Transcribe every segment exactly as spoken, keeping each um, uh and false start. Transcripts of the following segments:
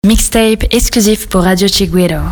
Mixtape exclusif pour Radio Chiguero.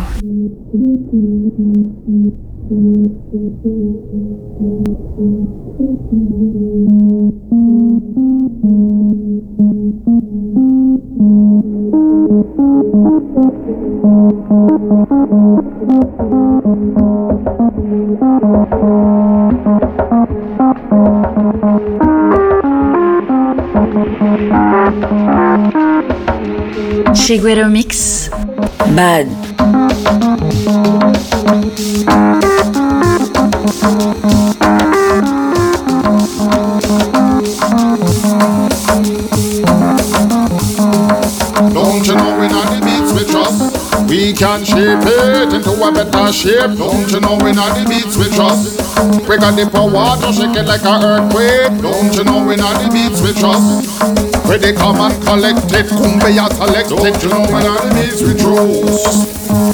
Chiguero Mix. Bad. Don't you know when on the beats we trust, we can shape it into a better shape. Don't you know when on the beats we trust, we got the power to shake it like an earthquake. Don't you know when on the beats we trust, where they come and collect it, Kumbaya select it. Don't you know when on the beats we trust.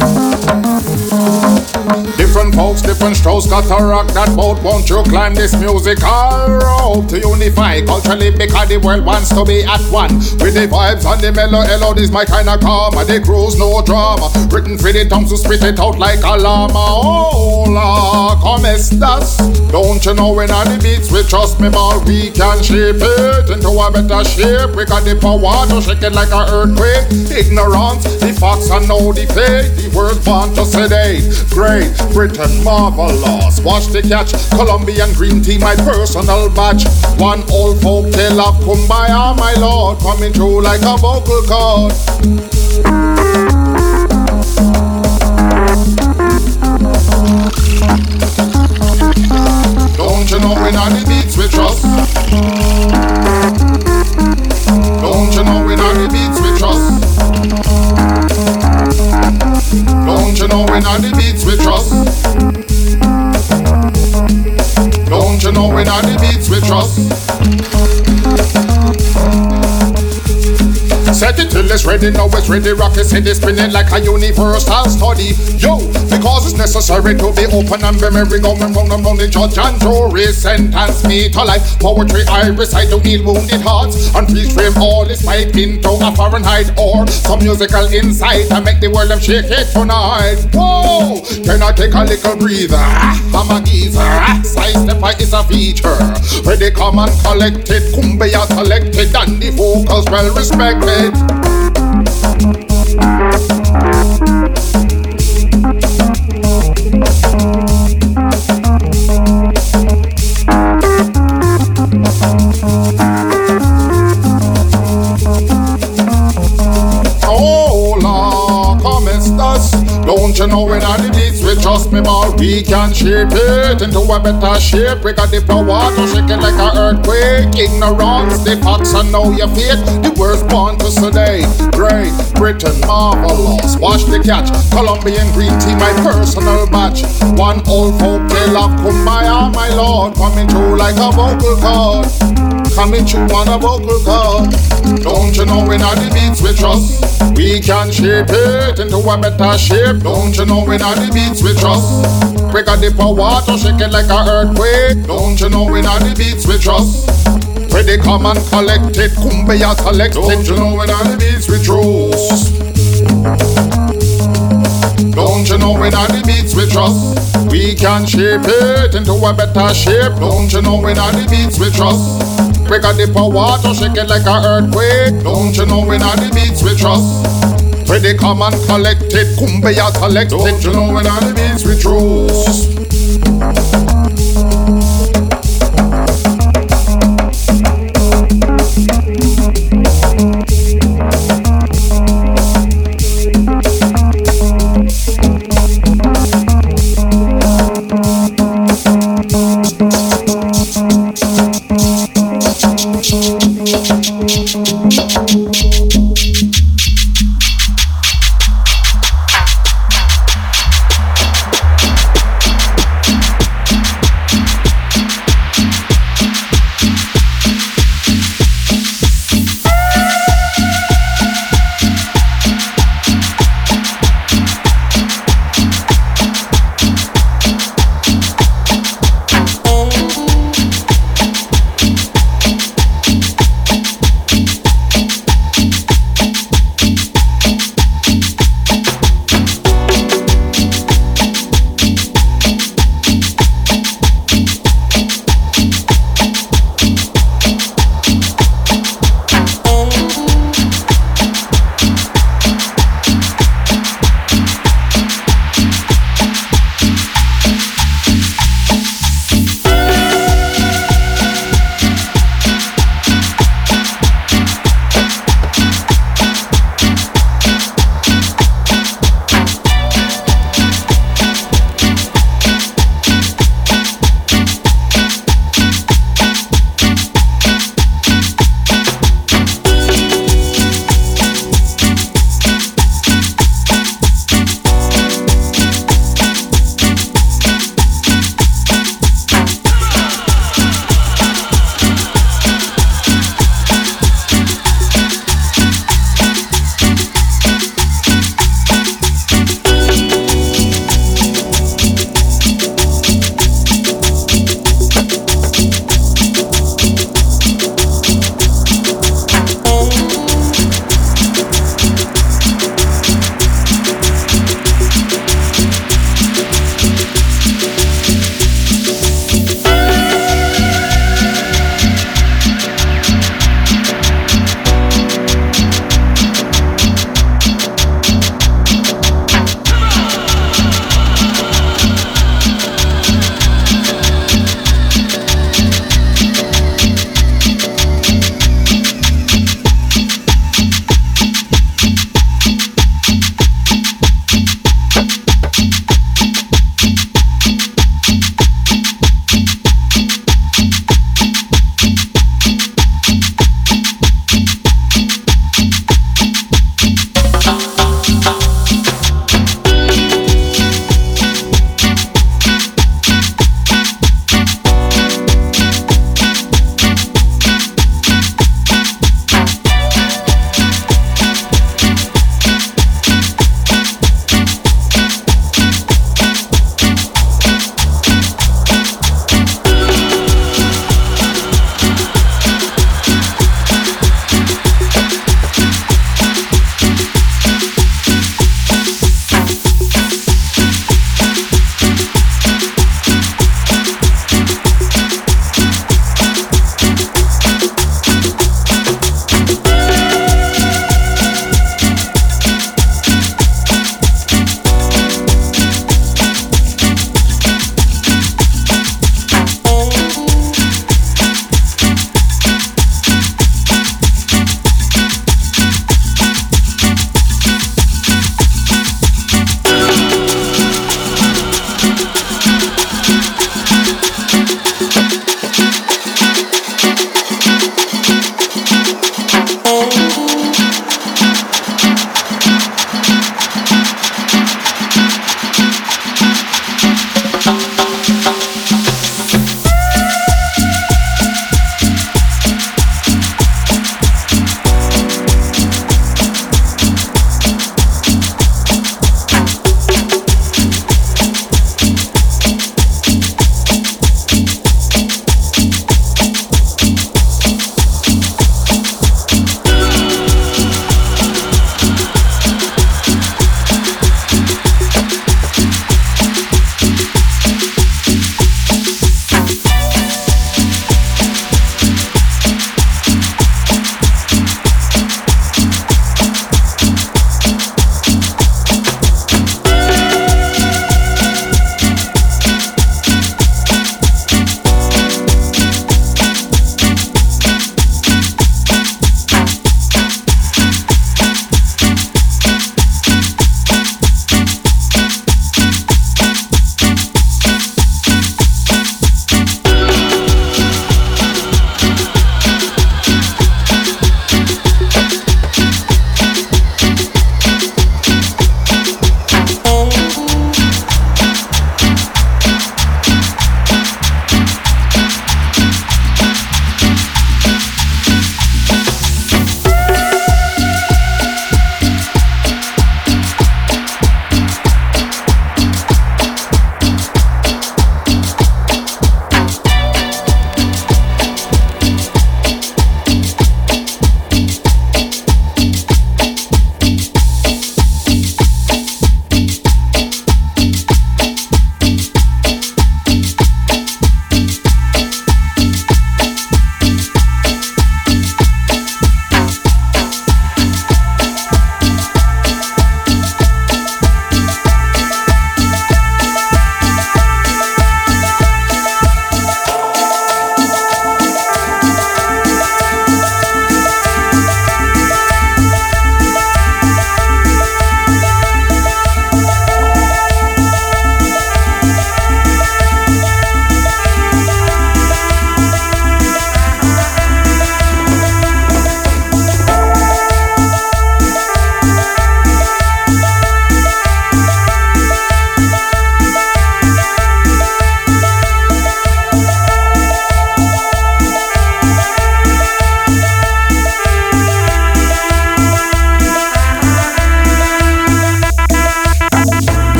Different folks, different strokes, got to rock that boat. Won't you climb this musical rope to unify culturally, because the world wants to be at one with the vibes and the mellow. Hello, this my kind of karma. The cruise, no drama. Written for the tongues to spit it out like a llama. Hola, como estas? Don't you know when on the beats we trust me, ball? We can shape it into a better shape. We got the power to shake it like an earthquake. Ignorance, the facts and know the fake. The words want to sedate. Great Britain, marvelous. Watch the catch. Colombian green tea, my personal batch. One old folk tale of Kumbaya, my lord, coming through like a vocal cord. Don't you know when on the beats we trust? Don't you know when on the beats we trust? Don't you know when on the beats we trust? Don't you know when on the beats we trust? Set it till it's ready, now it's ready. Rocket city spinning like a universal study. Yo, because it's necessary to be open and be merry. Going round and round, the judge and jury sentence me to life. Poetry I recite to heal wounded hearts and please frame all this pipe into a Fahrenheit or some musical insight and make the world them shake it tonight. Whoa, can I take a little breather? I'm a geezer. Side stepper is a feature where they come and collect it. Kumbaya selected and the vocals well respected. Hola, como estas? Don't you know when on the beats we trust me, ball? We can shape it into a better shape. We got the power to shake it like an earthquake. Ignorance, the facts and know your fate. The words born to sedate. Great Britain, marvelous. Watch the catch. Colombian green tea, my personal batch. One old folk tale of Kumbaya, my lord, coming through like a vocal cord. Coming through on a vocal cord. Don't you know when on the beats we trust, we can shape it into a better shape. Don't you know when on the beats we trust, we got the power to shake it like an earthquake. Don't you know when on the beats we trust, where they come and collect it, Kumbaya select it. Don't you know when on the beats we trust? Don't you know when on the beats we trust, we can shape it into a better shape. Don't you know when on the beats we trust, we got the power to shake it like an earthquake. Don't you know when on the beats we trust, where they come and collect it, Kumbaya select it. Don't you know when on the beats we trust?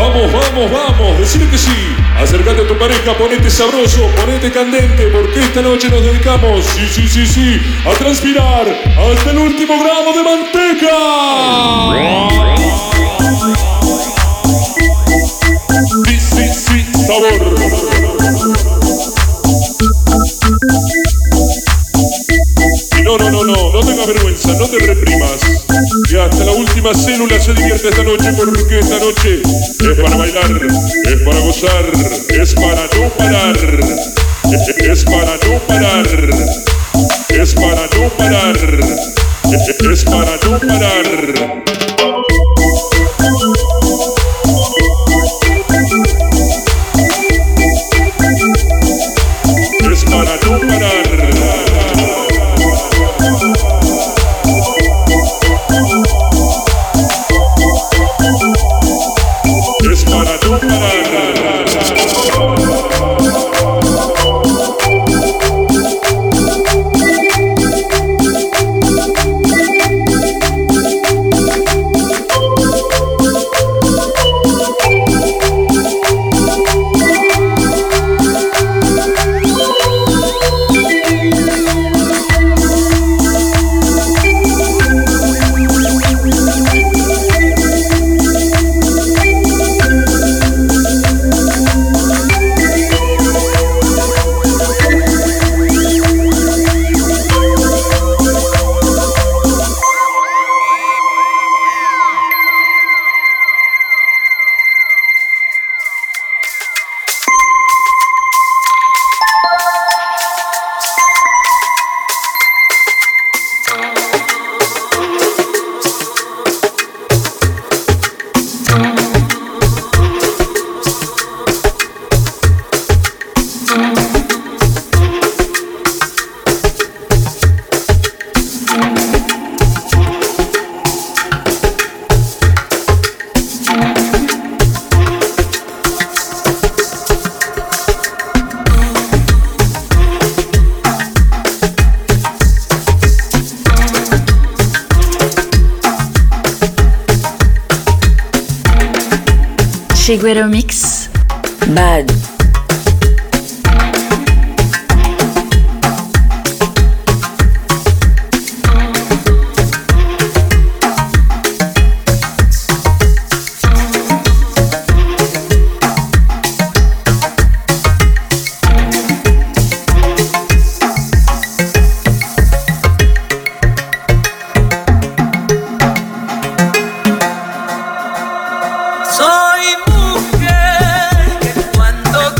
Vamos, vamos, vamos, decime que sí. Acércate a tu pareja, ponete sabroso, ponete candente, porque esta noche nos dedicamos, sí, sí, sí, sí, a transpirar hasta el último gramo de manteca. Sí, sí, sí, sabor. No, no, no, no, no tengas vergüenza, no te reprimas. Y hasta la última célula se divierte esta noche, porque esta noche es para bailar, es para gozar, es para no parar, es para no parar, es para no parar, es para no parar. Es para no parar. Es para no parar. Chiguero Mix, Bad. Soy mujer que cuando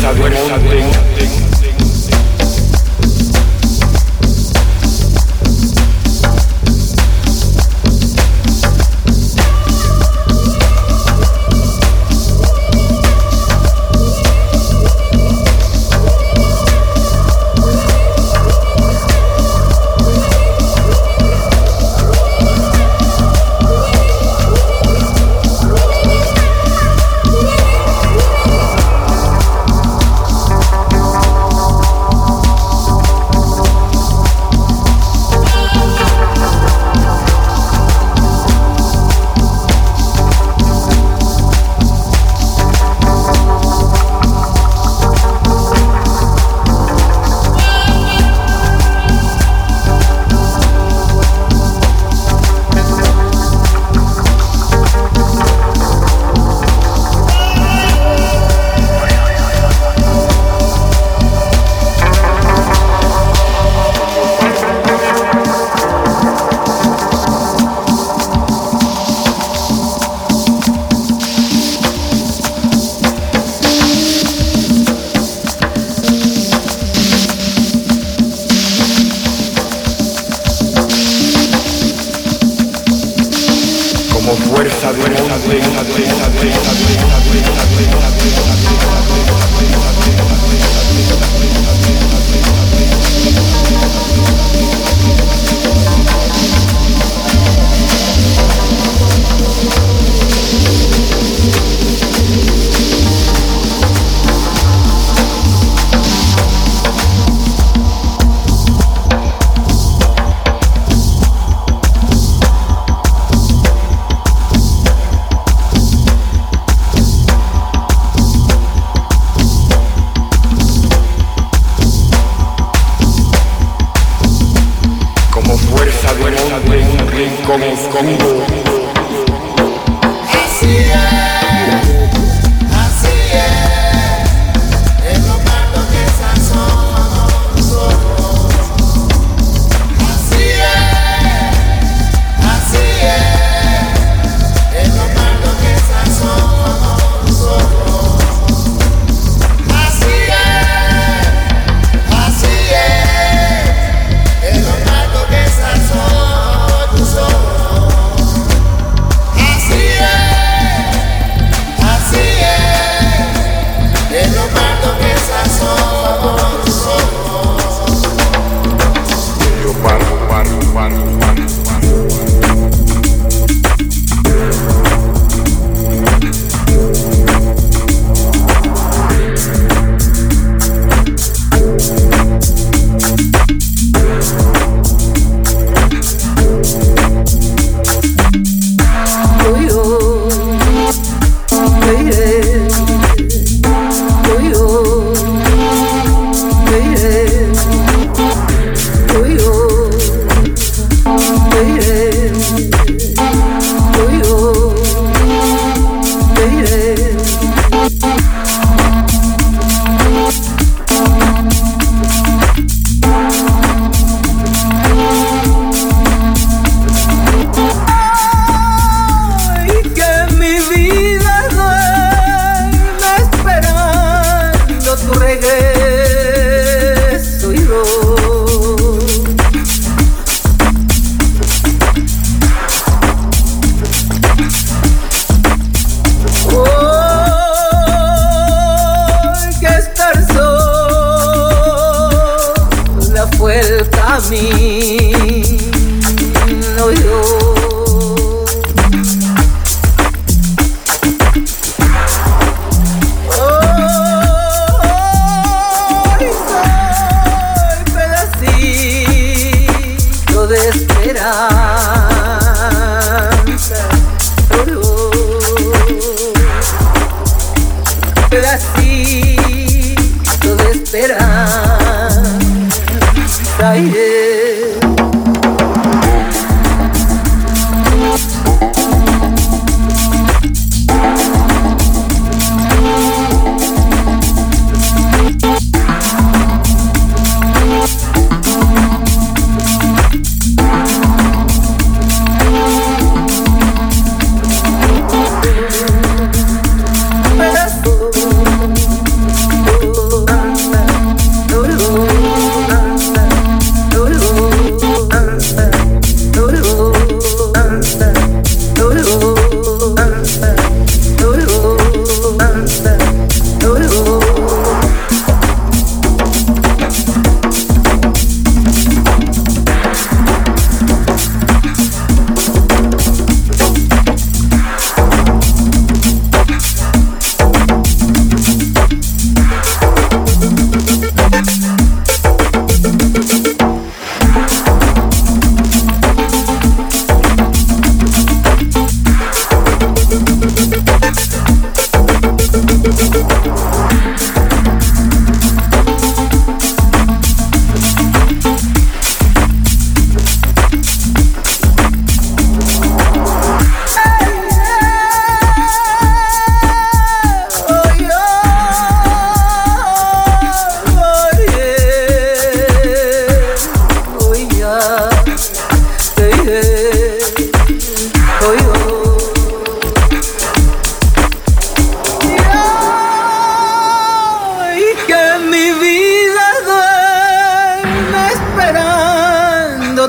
fuerza de monte.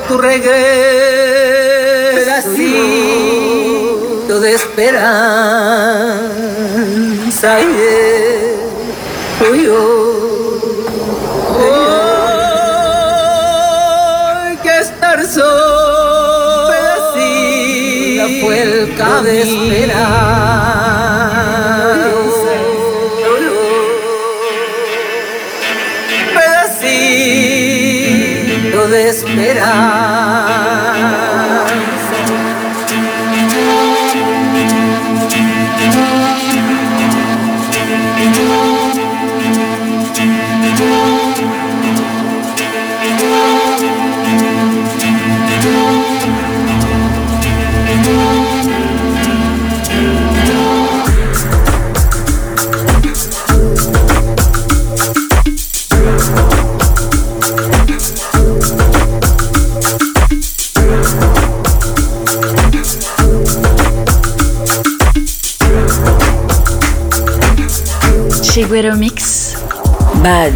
tu regreso, pedacito de esperanza, yeah. Uy, oh. Hoy que estar solo, pedacito fue el camino de esperanza, pedacito de esperanza. Chiguero Mix, Bad.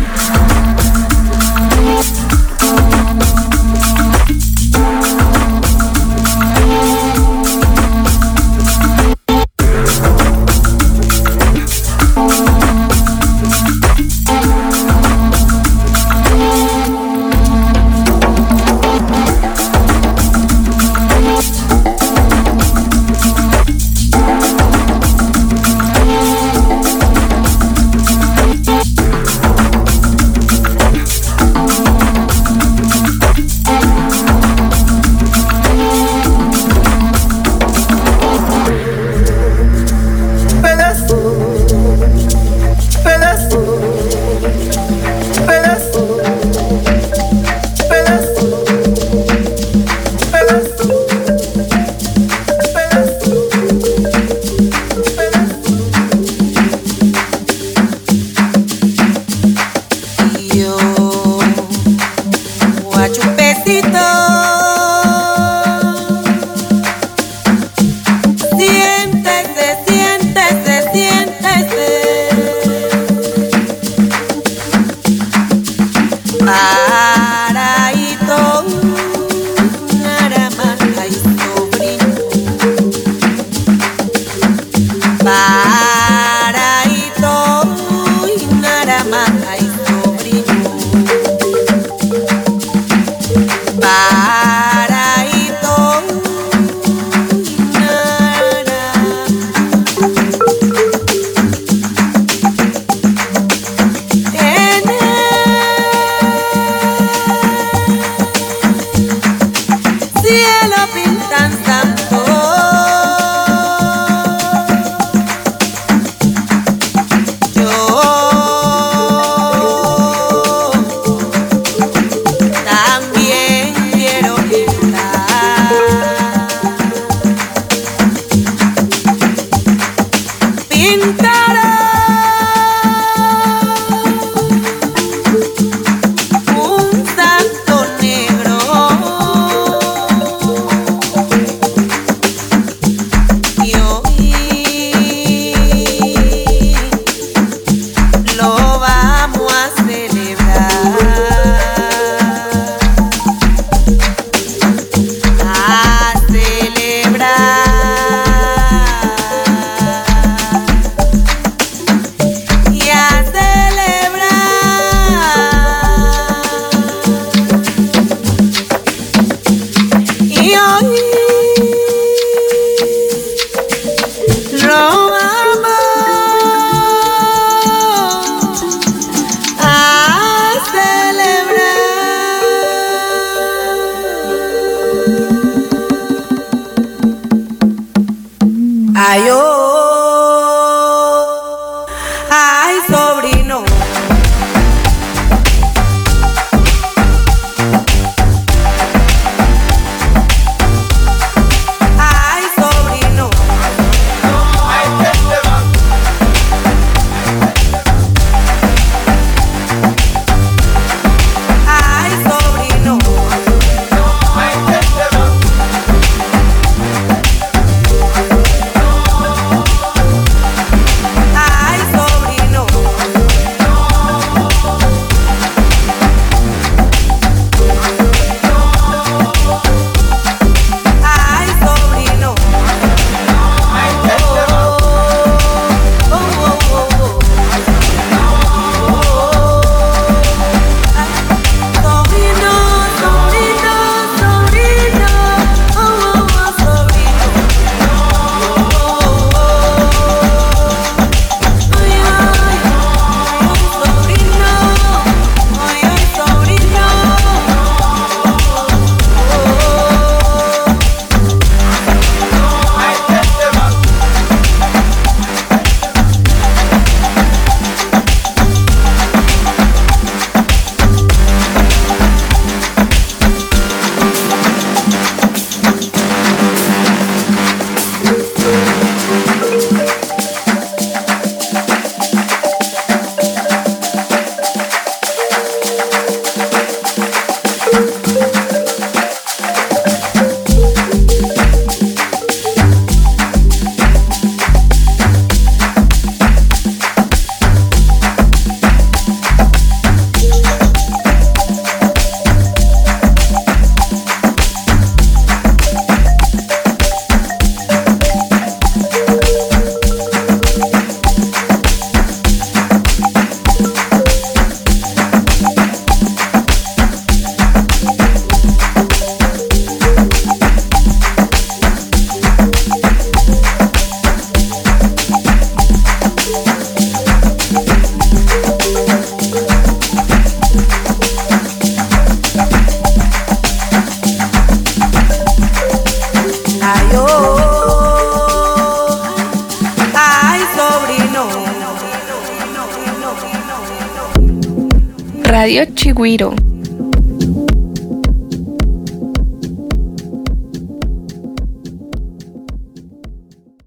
Radio Chigüiro.